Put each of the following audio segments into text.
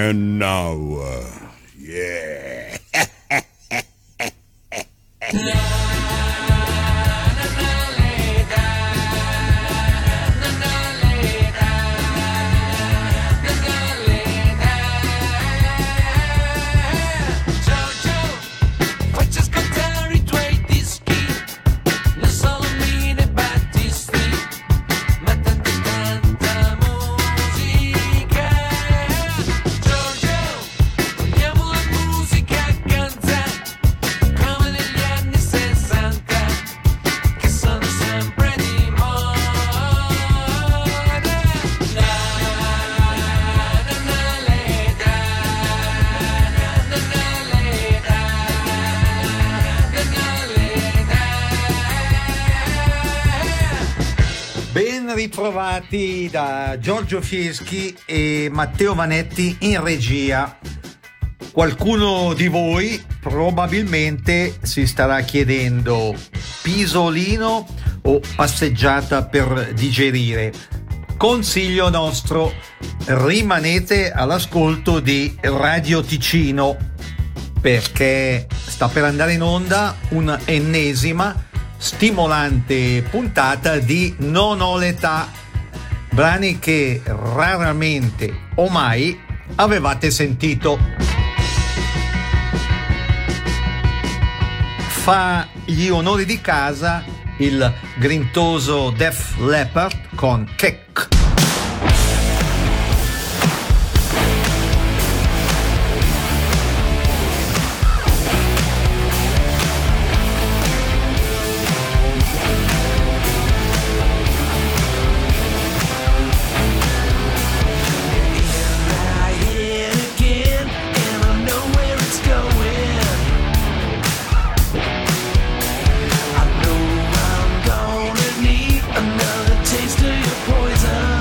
And now, yeah. Ritrovati da Giorgio Fieschi e Matteo Vanetti in regia. Qualcuno di voi probabilmente si starà chiedendo: pisolino o passeggiata per digerire? Consiglio nostro: rimanete all'ascolto di Radio Ticino, perché sta per andare in onda un'ennesima stimolante puntata di Non ho l'età, brani che raramente o mai avevate sentito. Fa gli onori di casa il grintoso Def Leppard con Keck. Another taste of your poison.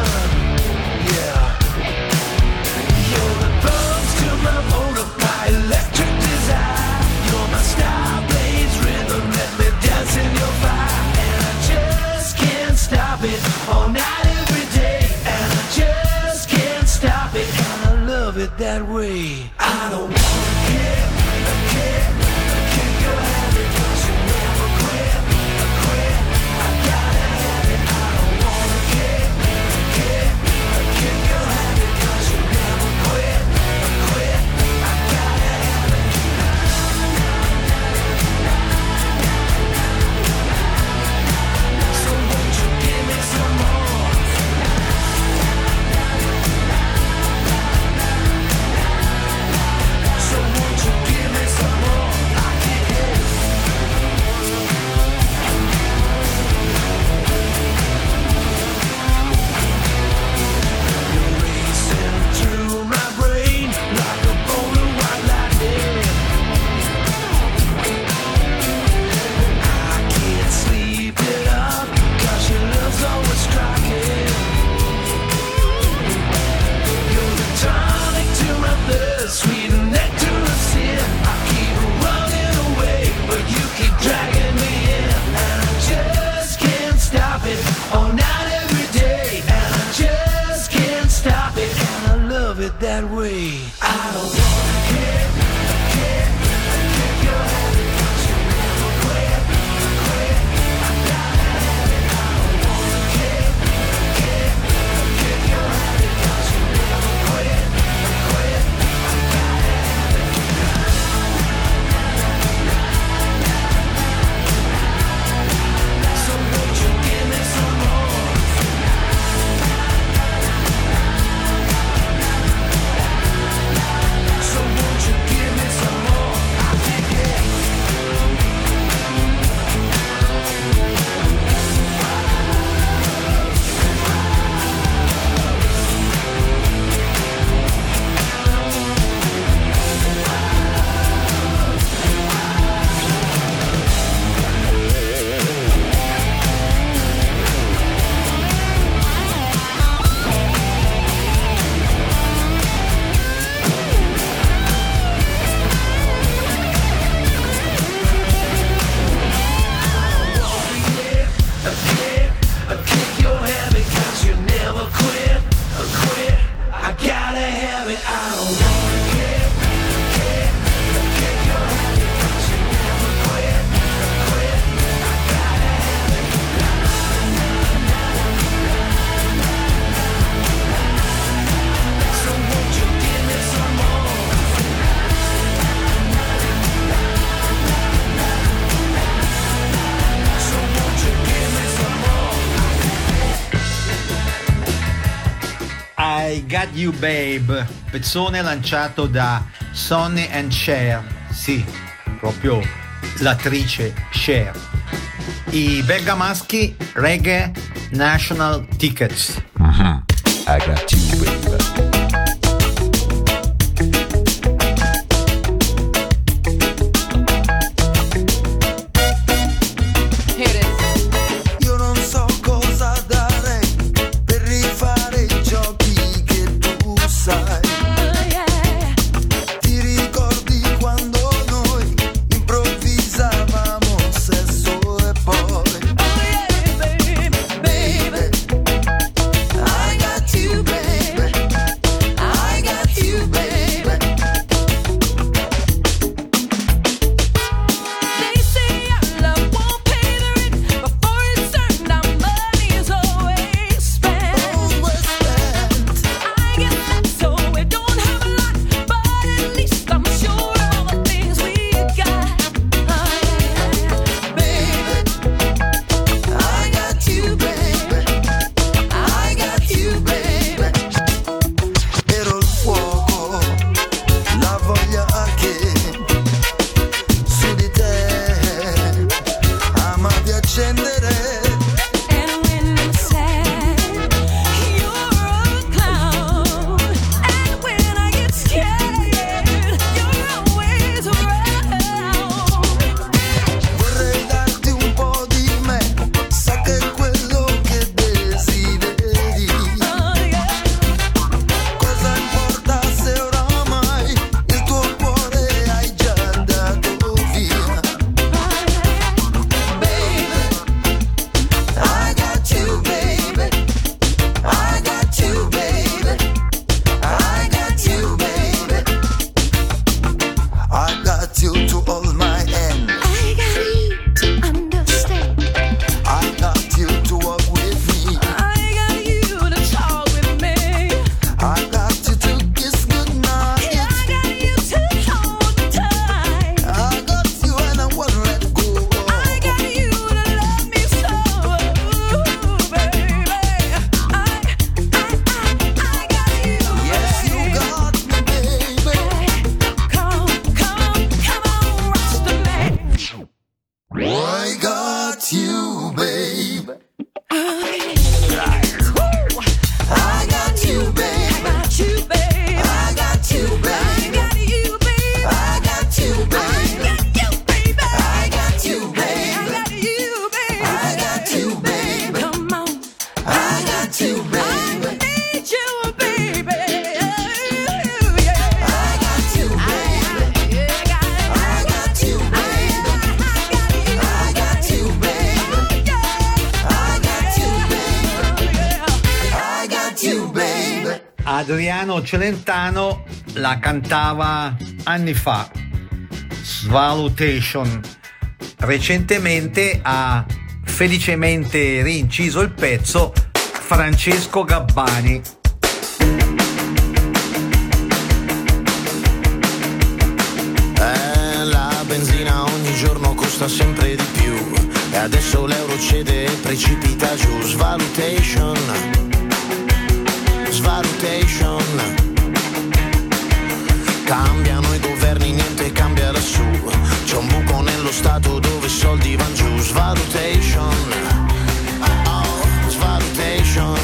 Got You Babe, pezzone lanciato da Sonny and Cher, sì, proprio l'attrice Cher. I bergamaschi Reggae National Tickets. I got you, baby. Adriano Celentano la cantava anni fa, Svalutation. Recentemente ha felicemente rinciso il pezzo Francesco Gabbani. La benzina ogni giorno costa sempre di più e adesso l'euro cede e precipita giù. Svalutation, svalutation. Cambiano i governi, niente cambia lassù. C'è un buco nello stato dove i soldi van giù. Svalutation, oh, svalutation.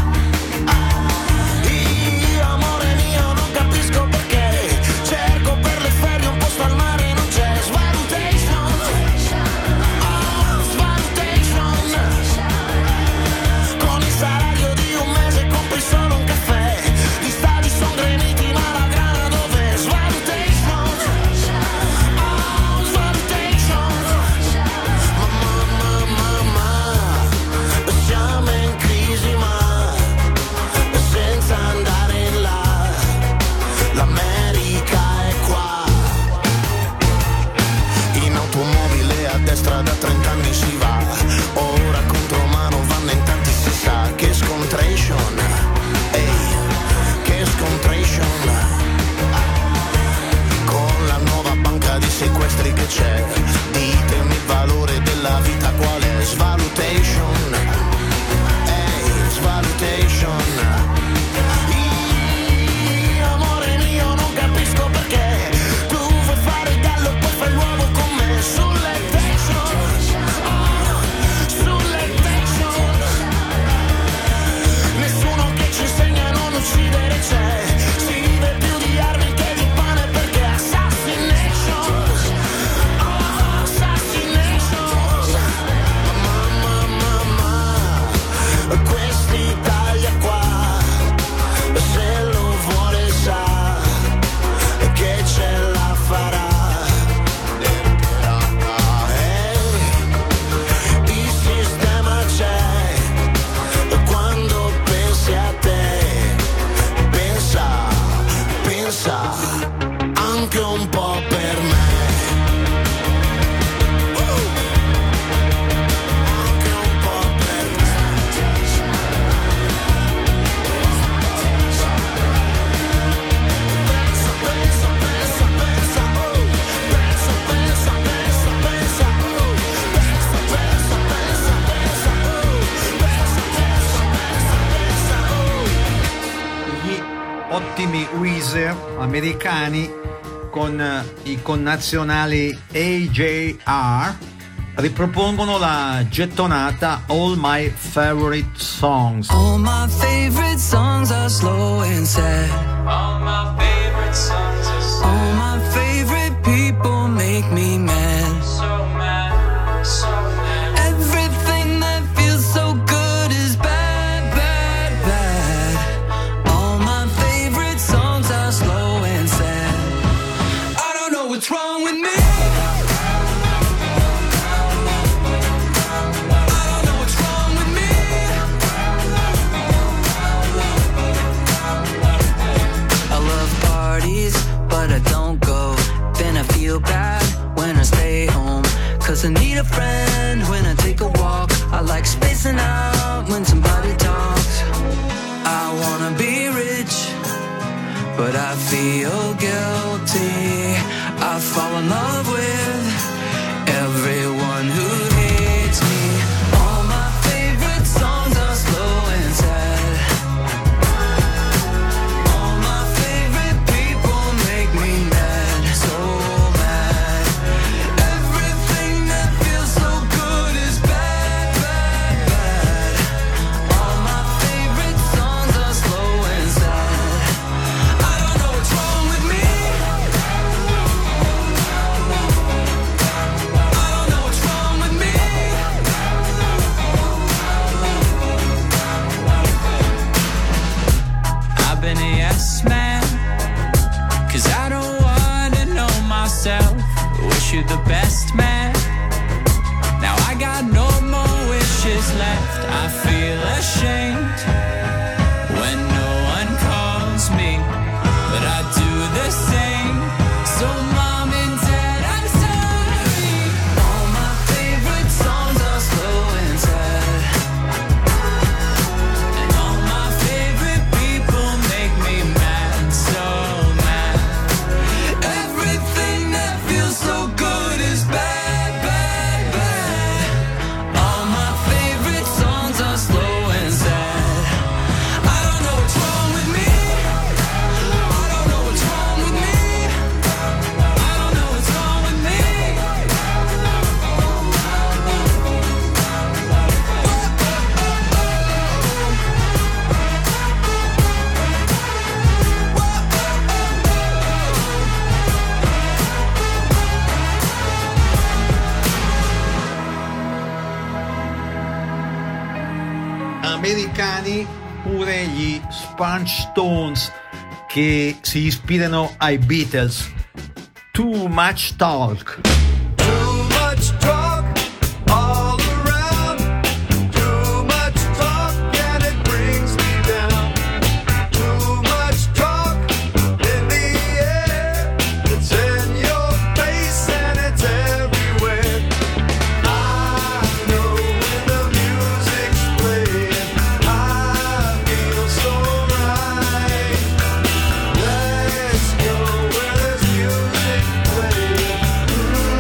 Io amore mio non capisco perché cerco per le ferie un posto al mare, non c'è. Svalutation, oh, svalutation. Con il salario di un mese compri solo un caffè. Gli stadi son gremiti ma la grana dov'è? Svalutation, oh, svalutation. Mamma, mamma, mamma. Weezer, americani, con i connazionali AJR, ripropongono la gettonata All My Favorite Songs. All my favorite songs are slow and sad. All my favorite songs are sad. All my favorite people make me mad. So mad, so mad. Everything that feels so good is bad, bad, bad. All my favorite songs are slow and sad. I don't know what's wrong with me. But I don't go. Then I feel bad when I stay home. Cause I need a friend when I take a walk. I like spacing out when somebody talks. I wanna be rich, but I feel guilty. I fall in love with everyone who hates me. All my favorite songs are slow and sad. Wish you the best, man. Now I got no more wishes left. I feel ashamed when no one calls me, but I do the same. So mom and dad, I'm sorry. All my favorite songs are slow and sad, and all my favorite people make me mad, so mad. Everything that feels so good is bad, bad, bad. All my favorite songs are slow and sad. I don't know what's wrong with me. I don't know what's wrong with me. I don't know what's wrong with me. Americani pure gli Sponge Stones, che si ispirano ai Beatles. Too Much Talk. Too much talk all around. Too much talk and it brings me down. Too much talk in the air. It's in your face and it's everywhere. I know when the music's playing, I feel so right. Let's go where there's music playing.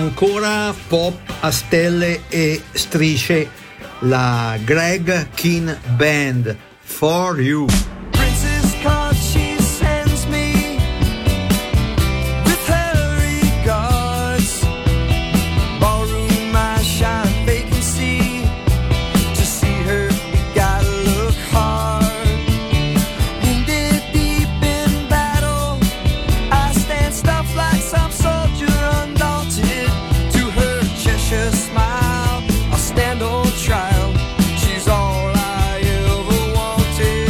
Ancora pop a stelle e strisce, la Greg Kihn Band, For You. Princess card she sends me with her regards. Ballroom I shine vacancy. To see her you gotta look hard. Wounded deep in battle, I stand stuff like some soldier undaunted. To her Cheshire smile, I'll stand on trial. She's all I ever wanted.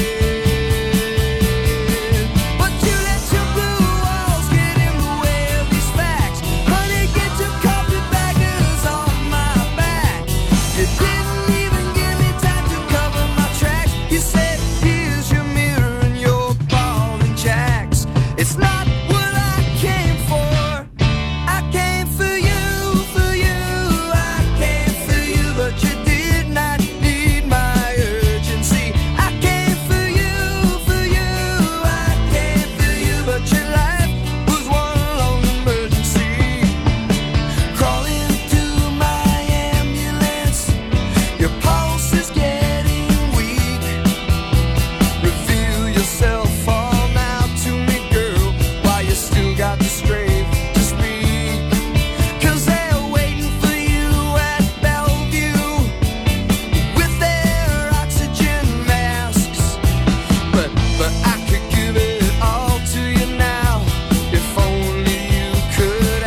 But you let your blue walls get in the way of these facts. Honey, get your carpetbaggers off my back. You didn't even give me time to cover my tracks. You said, here's your mirror and your ball and jacks. It's not what I came for. I came for you, for you. I came for you, but you did not need my urgency. I came for you, for you. I came for you, but your life was one long emergency. Crawling to my ambulance, your pulse is getting weak. Reveal yourself all now to me, girl, while you still got the strength to speak. 'Cause they're waiting for you at Bellevue with their oxygen masks. But I could give it all to you now, if only you could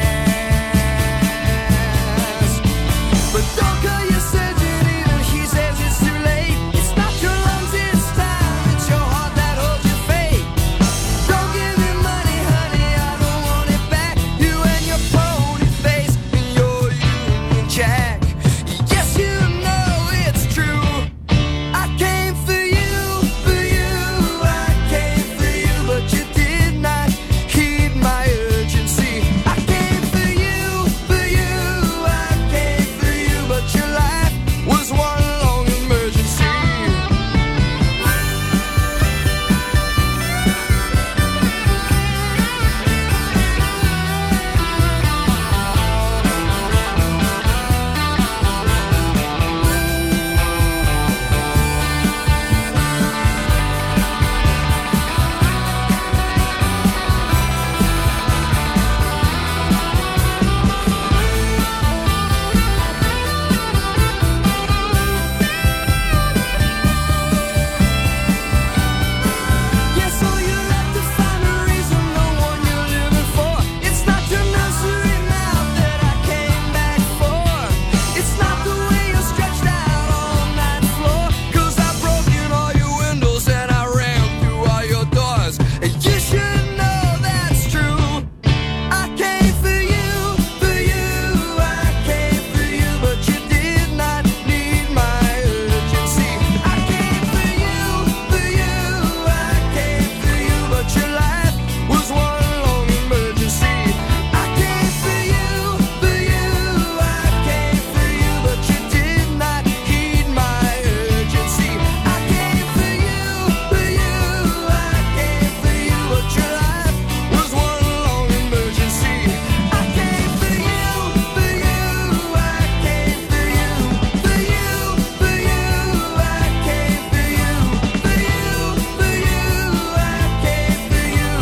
ask. But don't call your surgeon either, he says it's too late. It's not your lungs this time, it's your heart that holds your fate. Don't give me money, honey, I don't want it back. You and your pony face and your Union Jack. Yes, you know it's true. I came for you, for you. I came for you, but you did not heed my urgency. I came for you, for you. I came for you, but your life was one long emergency. Yes, so you have to find a reason, the one you're living for. It's not your nursery mouth that I came back for. It's not the way you're stretched out on that floor. 'Cause I've broken all your windows and I ran through all your doors. And you should know that's true. I came for you, for you. I came for you, but you did not need my urgency. I came for you, for you. I came for you, but your life was one long emergency. I came for you, for you. I came for you, but you did not heed my urgency. I came for you, for you. I came for you, but your life was one long emergency. I came for you, for you. I came for you, for you, for you. I came for you, for you, for you. I came for you.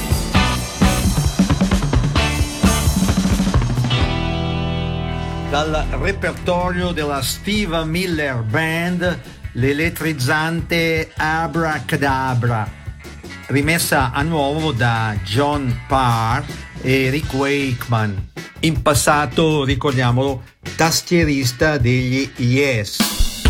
Dal repertorio della Steve Miller Band, l'elettrizzante Abracadabra, rimessa a nuovo da John Parr e Rick Wakeman, in passato, ricordiamolo, tastierista degli Yes.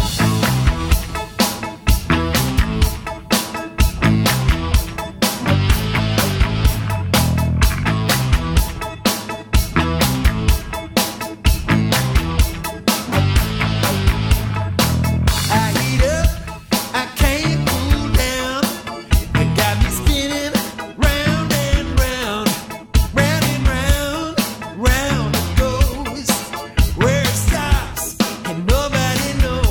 I heat up, I can't cool down. It got me spinning round and round, round and round, round it goes. Where it stops and nobody knows.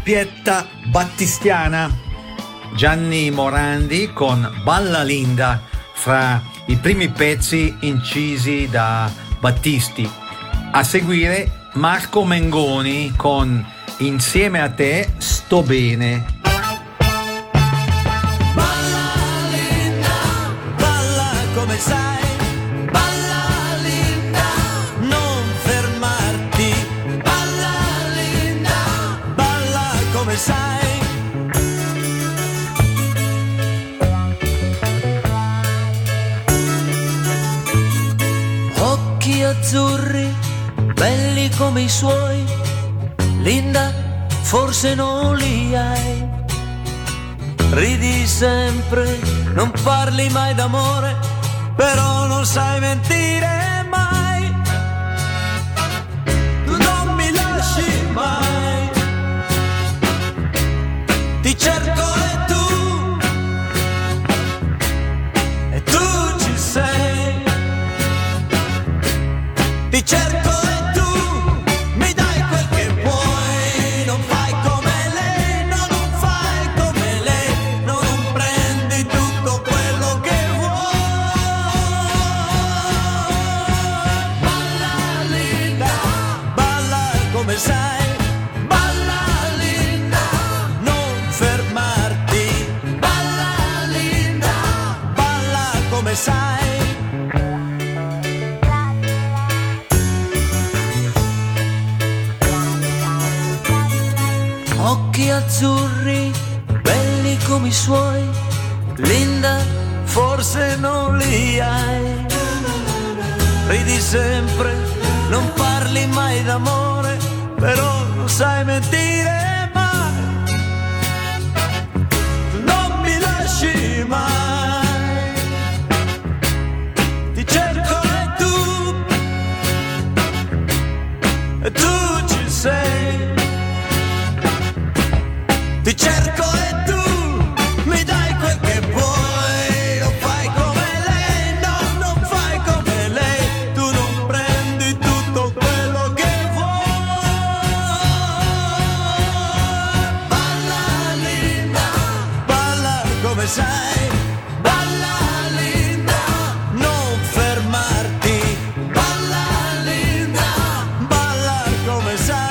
doppietta battistiana. Gianni Morandi con Balla Linda, fra i primi pezzi incisi da Battisti. A seguire Marco Mengoni con Insieme a te sto bene. Balla linda, balla come sai, balla linda, non fermarti, balla linda, balla come sai. Occhi azzurri, belli come i suoi, Linda, forse non li hai. Ridi sempre, non parli mai d'amore, però non sai mentire mai. Tu non mi lasci mai, ti cerco e tu ci sei. Ti cerco e tu mi dai quel che vuoi, non fai come lei, no, non fai come lei, no, non prendi tutto quello che vuoi. Balla linda, balla come sai, balla linda, non fermarti, balla linda, balla come sai. Occhi azzurri, belli come i suoi, Linda, forse non li hai. Ridi sempre, non parli mai d'amore, però non sai mentire mai. Non mi lasci mai, ti cerco e tu ci sei. Ti cerco e tu mi dai quel che vuoi, non fai come lei, no, non fai come lei, tu non prendi tutto quello che vuoi. Balla linda, balla come sai, balla linda, non fermarti, balla linda, balla come sai.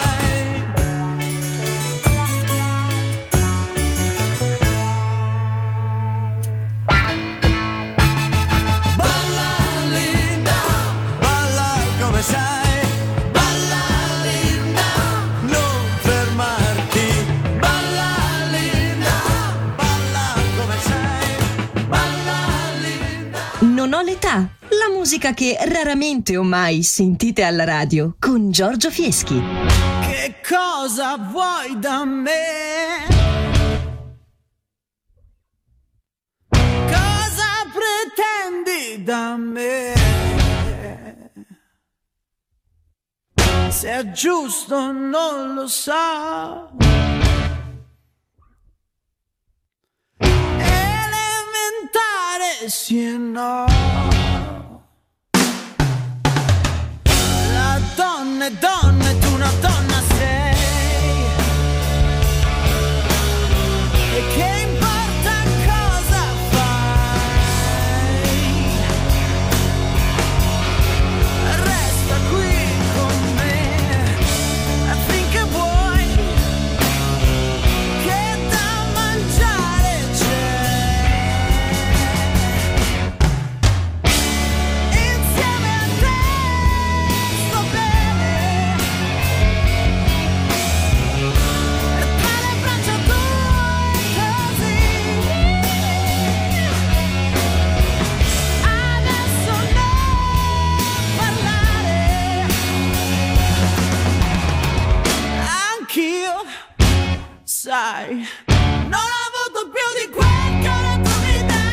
Non ho l'età, la musica che raramente o mai sentite alla radio con Giorgio Fieschi. Che cosa vuoi da me? Cosa pretendi da me? Se è giusto non lo so. Elementare sì e no. La donna è donna e tu una donna sei. E che importa cosa fai? Resta qui con me finché vuoi, che da mangiare c'è. Insieme a te sto bene, e tra le braccia tue così. Adesso non parlare, anch'io, sai, non ho avuto più di quel che ora tu mi dai.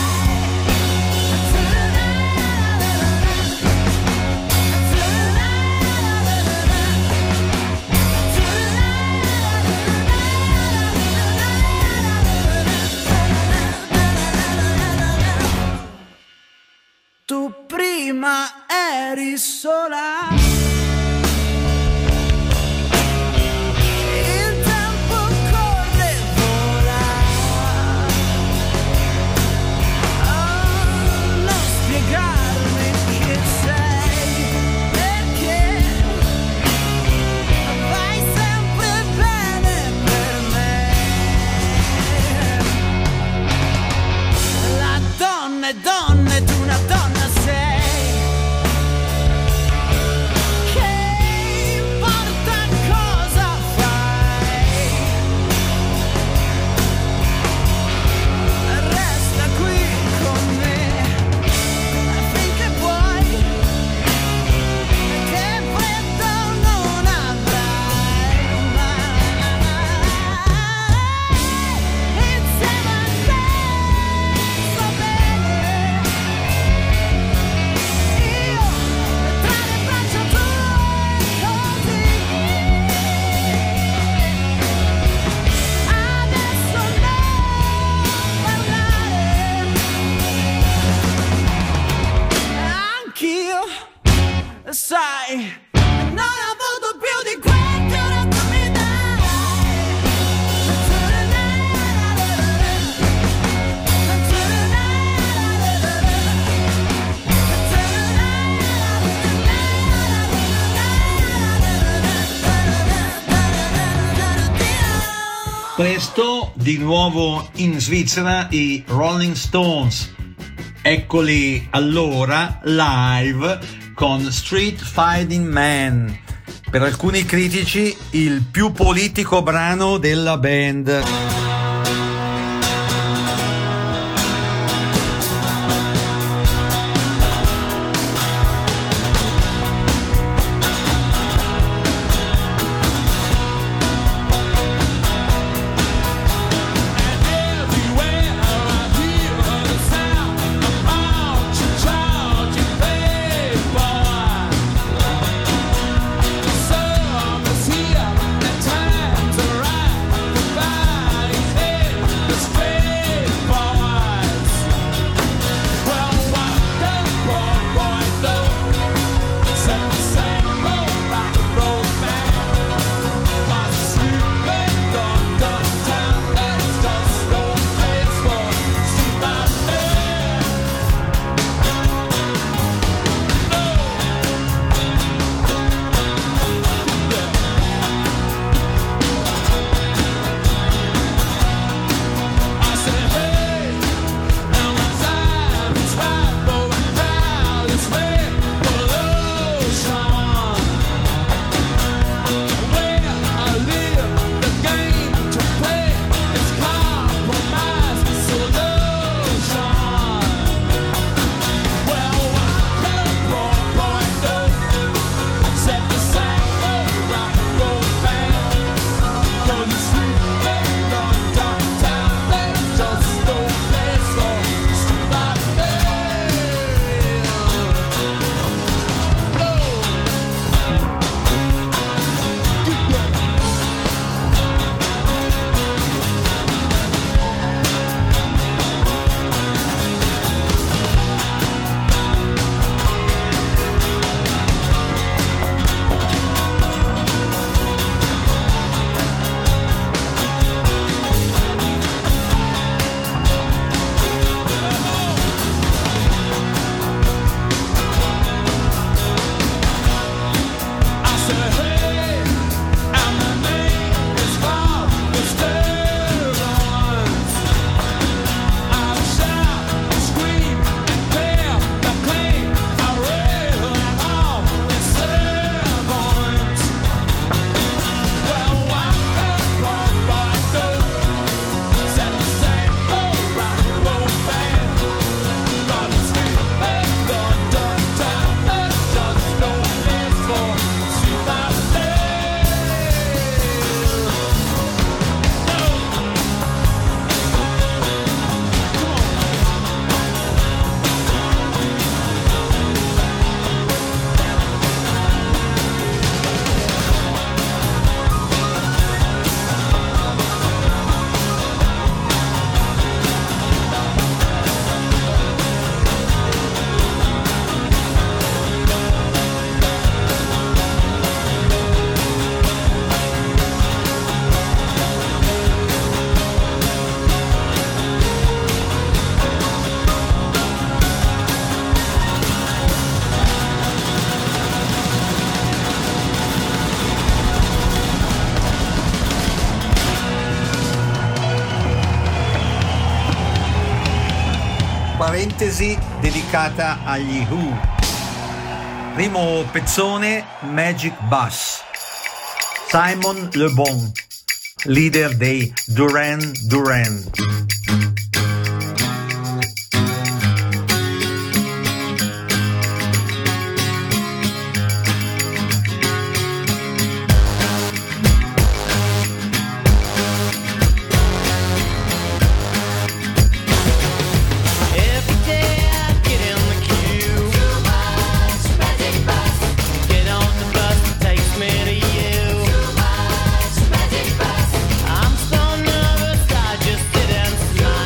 Tu prima eri sola, il tempo Presto di nuovo in Svizzera i Rolling Stones. Eccoli allora live con Street Fighting Man, per alcuni critici il più politico brano della band. Parentesi dedicata agli Who. Primo pezzone, Magic Bus. Simon Le Bon, leader dei Duran Duran. I'm so nervous, I just sit and smile.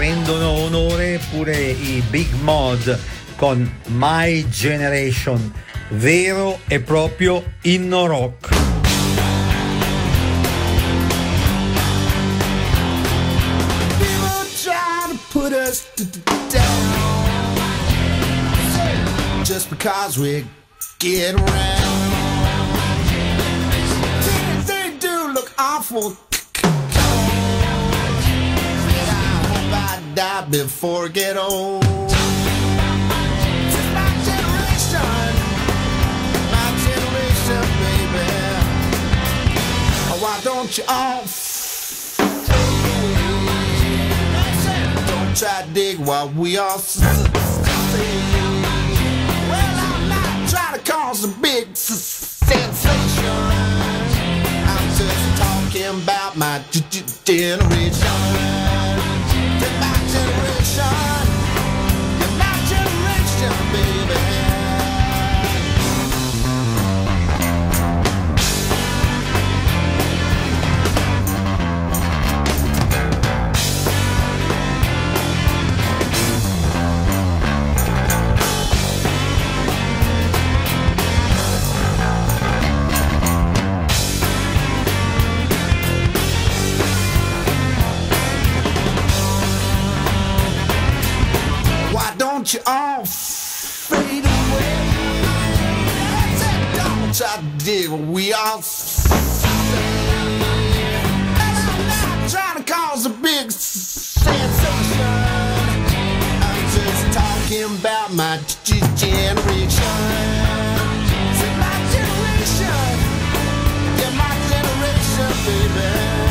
rendono onore pure i Big Mod con My Generation, vero e proprio inno rock. People try to put us down just because we get around. They do look awful. I die before I get old. It's my generation, baby. Oh, why don't you all fade away? Don't try to dig while we all well, I'm not trying to cause a big sensation. I'm just talking about my generation. My generation, baby. Don't you all fade away? Don't try to dig what we all say. And I'm not trying to cause a big sensation. I'm just talking about my generation. See, my generation. Yeah, my generation, baby.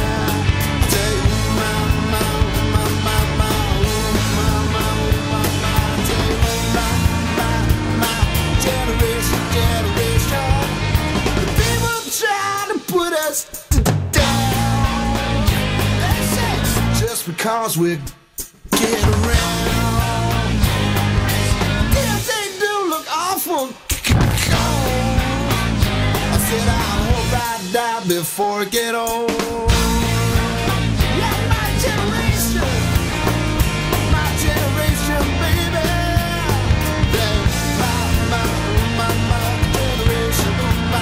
Because we get around. Yeah, they do look awful cold. I said I hope I die before I get old. Yeah, my generation, baby. Yeah, my generation, my.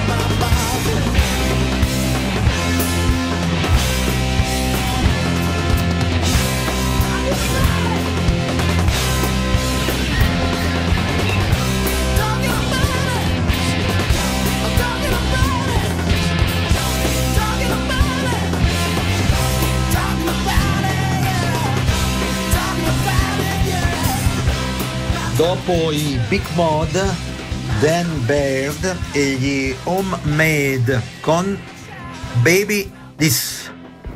Dopo i Big Mod, Dan Baird e gli Homemade con Baby This.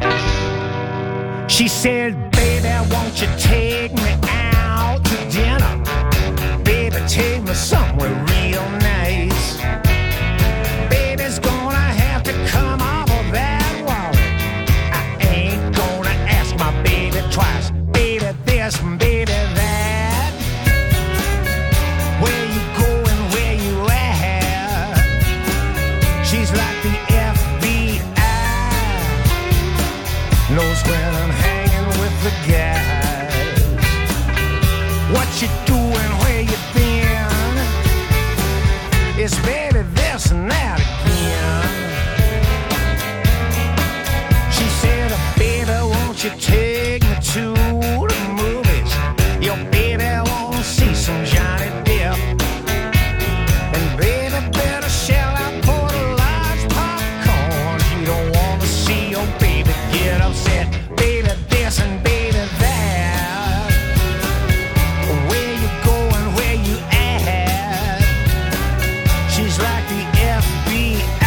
She said, baby, won't you take me out to dinner? Baby, take me somewhere real nice. Baby's gonna have to come off of that wall. I ain't gonna ask my baby twice. Baby this, baby that. Where you going, where you at? She's like the FBI. Knows when I'm hanging with the guys. What you doing, where you been? It's baby this and that again. She said, baby, won't you take me to the movies? Your baby won't see some Johnny Depp. And baby better shell out for the large popcorn. You don't wanna see your baby get upset. Baby this and baby that. Where you going, where you at? She's like the FBI.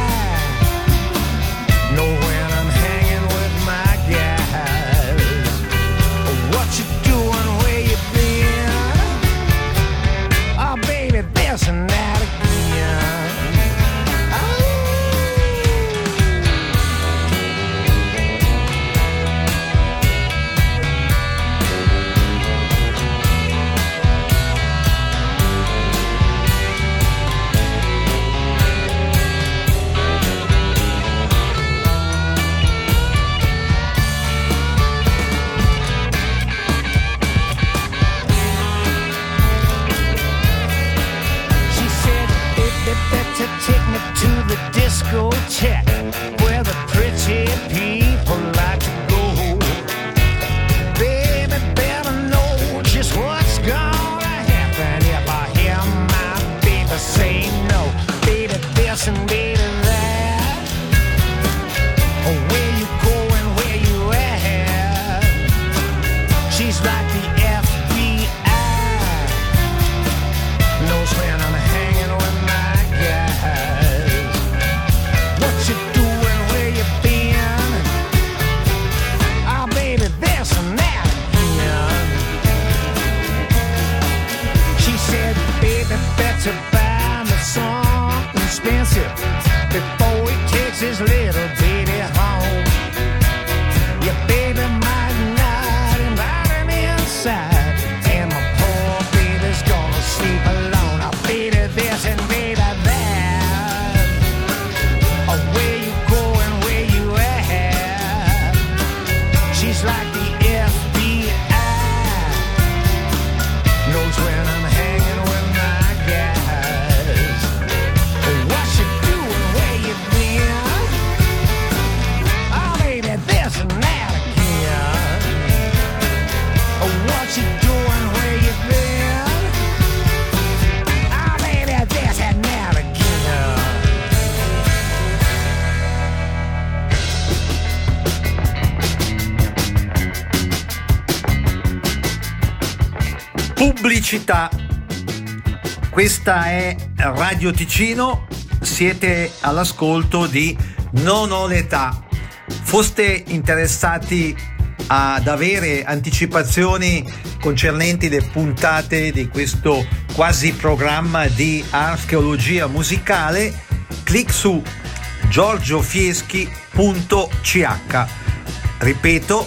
Know when I'm hanging with my guys. What you doing, where you been? Oh baby this and that again. to buy me something expensive before he takes his little baby home. Your baby might not invite him inside, and my poor baby's gonna sleep alone. I'll baby this and baby that. Oh, where you going, where you at? She's like the FBI, knows when I'm hanging with my guys. What you doing, where you been? Oh, baby, this and that again. What you doing, where you been? Oh, baby, this and that again. Pubblicità. Questa è Radio Ticino, siete all'ascolto di Non ho l'età. Foste interessati ad avere anticipazioni concernenti le puntate di questo quasi programma di archeologia musicale, clic su giorgiofieschi.ch. Ripeto,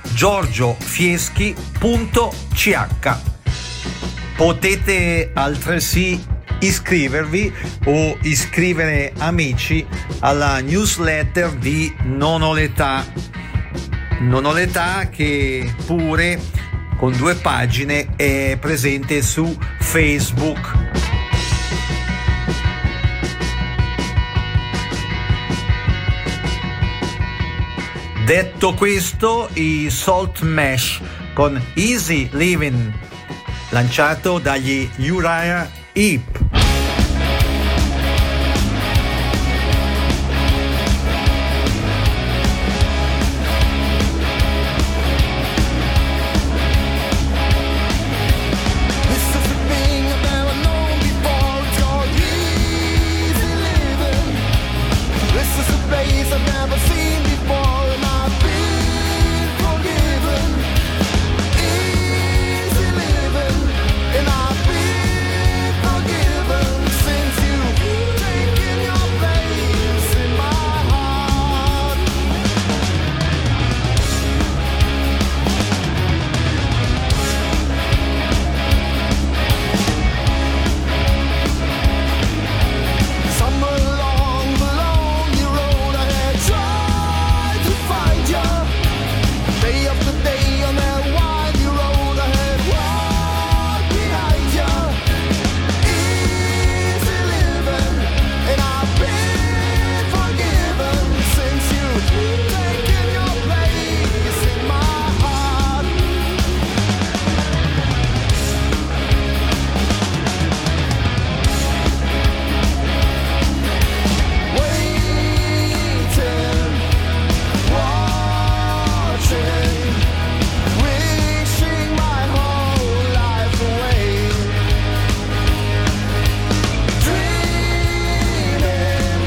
giorgiofieschi.ch. Potete altresì iscrivervi o iscrivere amici alla newsletter di Non ho l'età. Non ho l'età, che pure con 2 pagine è presente su Facebook. Detto questo, i Salt Mesh con Easy Living, lanciato dagli Uriah Heep. This is the thing I've never known before. It's called easy living. This is a place I've never seen before, and I've been forgiven. Easy living, and I've been forgiven since you've taken your place in my heart. Somewhere along the lonely road I had tried to find you. Day after day on that windy road I had walked behind you. Easy living, and I've been forgiven since you've taken your place in my heart. Waiting, watching, wishing my whole life away. Dreaming,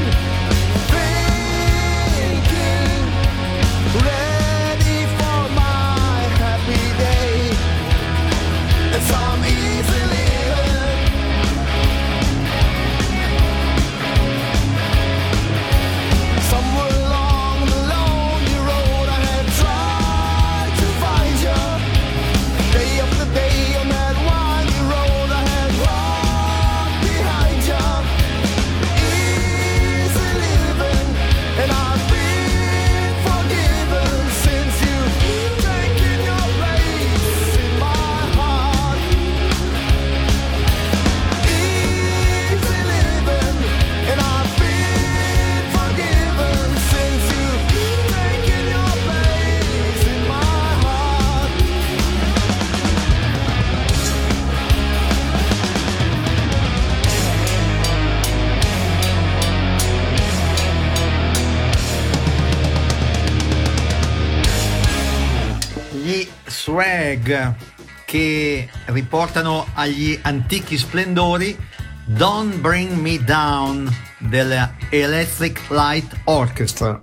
thinking, ready for my happy day. And some easy living. Somewhere along the lonely road I had tried to find you. Day after day on that windy road I had walked behind you. Easy living, and I've been forgiven since you've taken your place in my heart. Easy living, and I've been forgiven since you've taken your place in my heart. Gli Swag, che riportano agli antichi splendori Don't Bring Me Down della Electric Light Orchestra.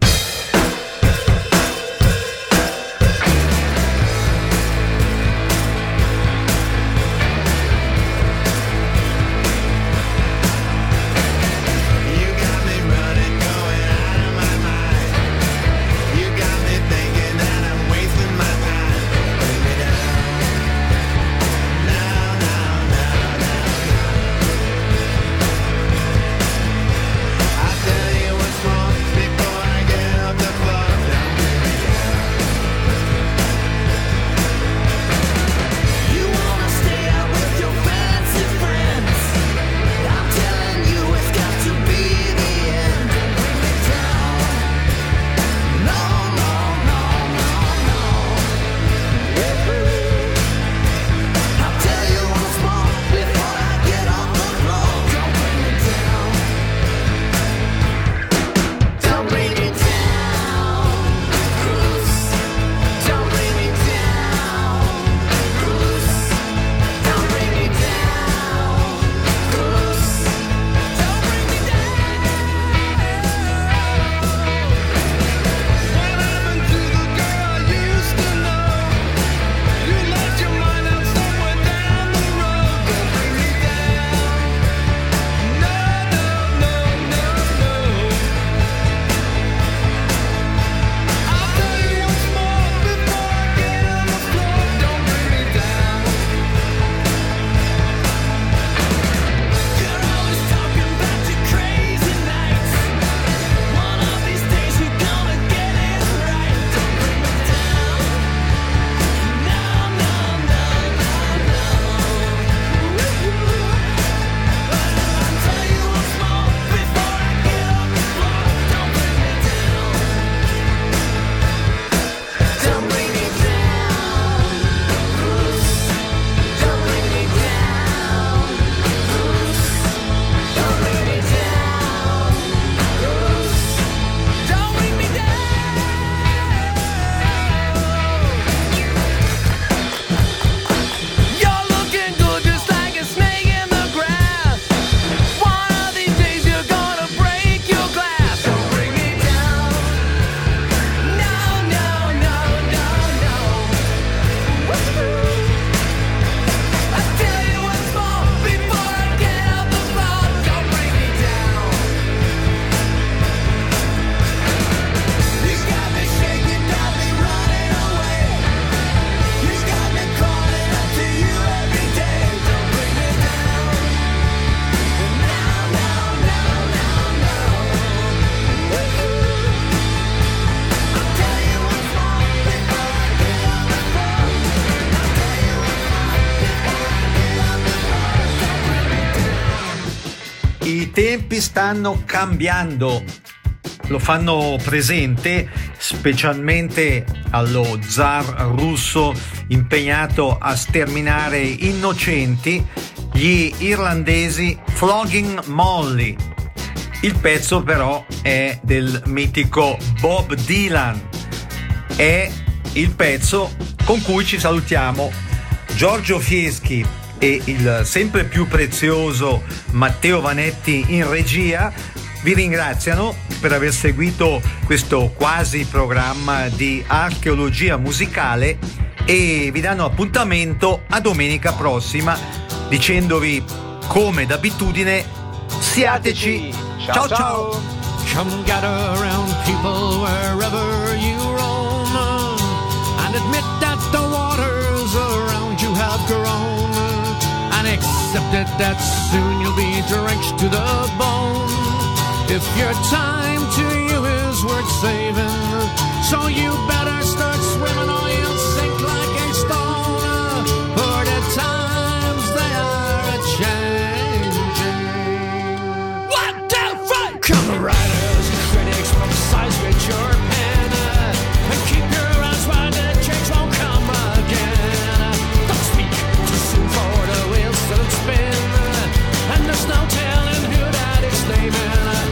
I tempi stanno cambiando, lo fanno presente specialmente allo zar russo impegnato a sterminare innocenti, gli irlandesi Flogging Molly. Il pezzo però è del mitico Bob Dylan, è il pezzo con cui ci salutiamo. Giorgio Fieschi e il sempre più prezioso Matteo Vanetti in regia vi ringraziano per aver seguito questo quasi programma di archeologia musicale e vi danno appuntamento a domenica prossima dicendovi come d'abitudine siateci. Ciao ciao. Come gather around people wherever you roam and admit that the waters around you have grown and accept it that soon you'll be drenched to the bone. If your time to you is worth saving, so you better start swimming or you'll sink like a stone. For the times they are a-changing. 1, 2, 3! Come writers and critics, publicize with your pen and keep your eyes wide, the change won't come again. Don't speak too soon for the wheels still spin, and there's no telling who that is naming.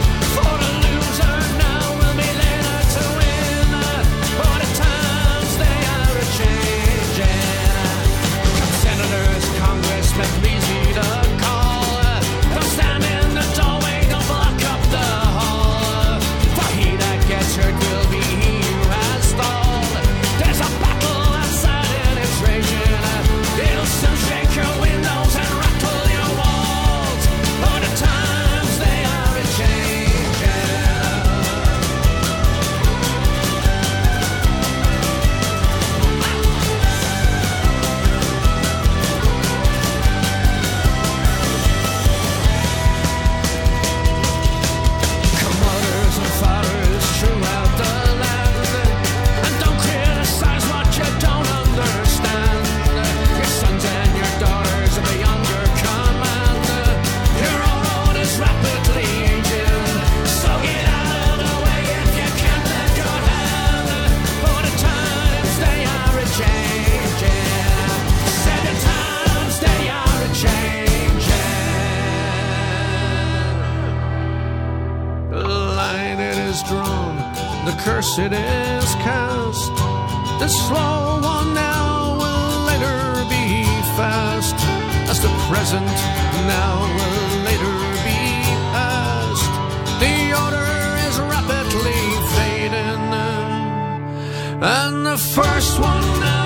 Please heed a call. Don't stand in the doorway, don't block up the hall. For he that gets hurt will be he who has stalled. There's a battle outside and it's raging. It'll soon shake your windows and rattle your walls. For the times they are a-changing. Throughout the land, and don't criticize what you don't understand. Your sons and your daughters are beyond your command. Your own road is rapidly aging, so get out of the way if you can't lend your hand. For the times they are a-changing. Say the times they are a-changing. The line it is drawn, the curse it is cast. The slow one now will later be fast, as the present now will later be past. The order is rapidly fading, and the first one now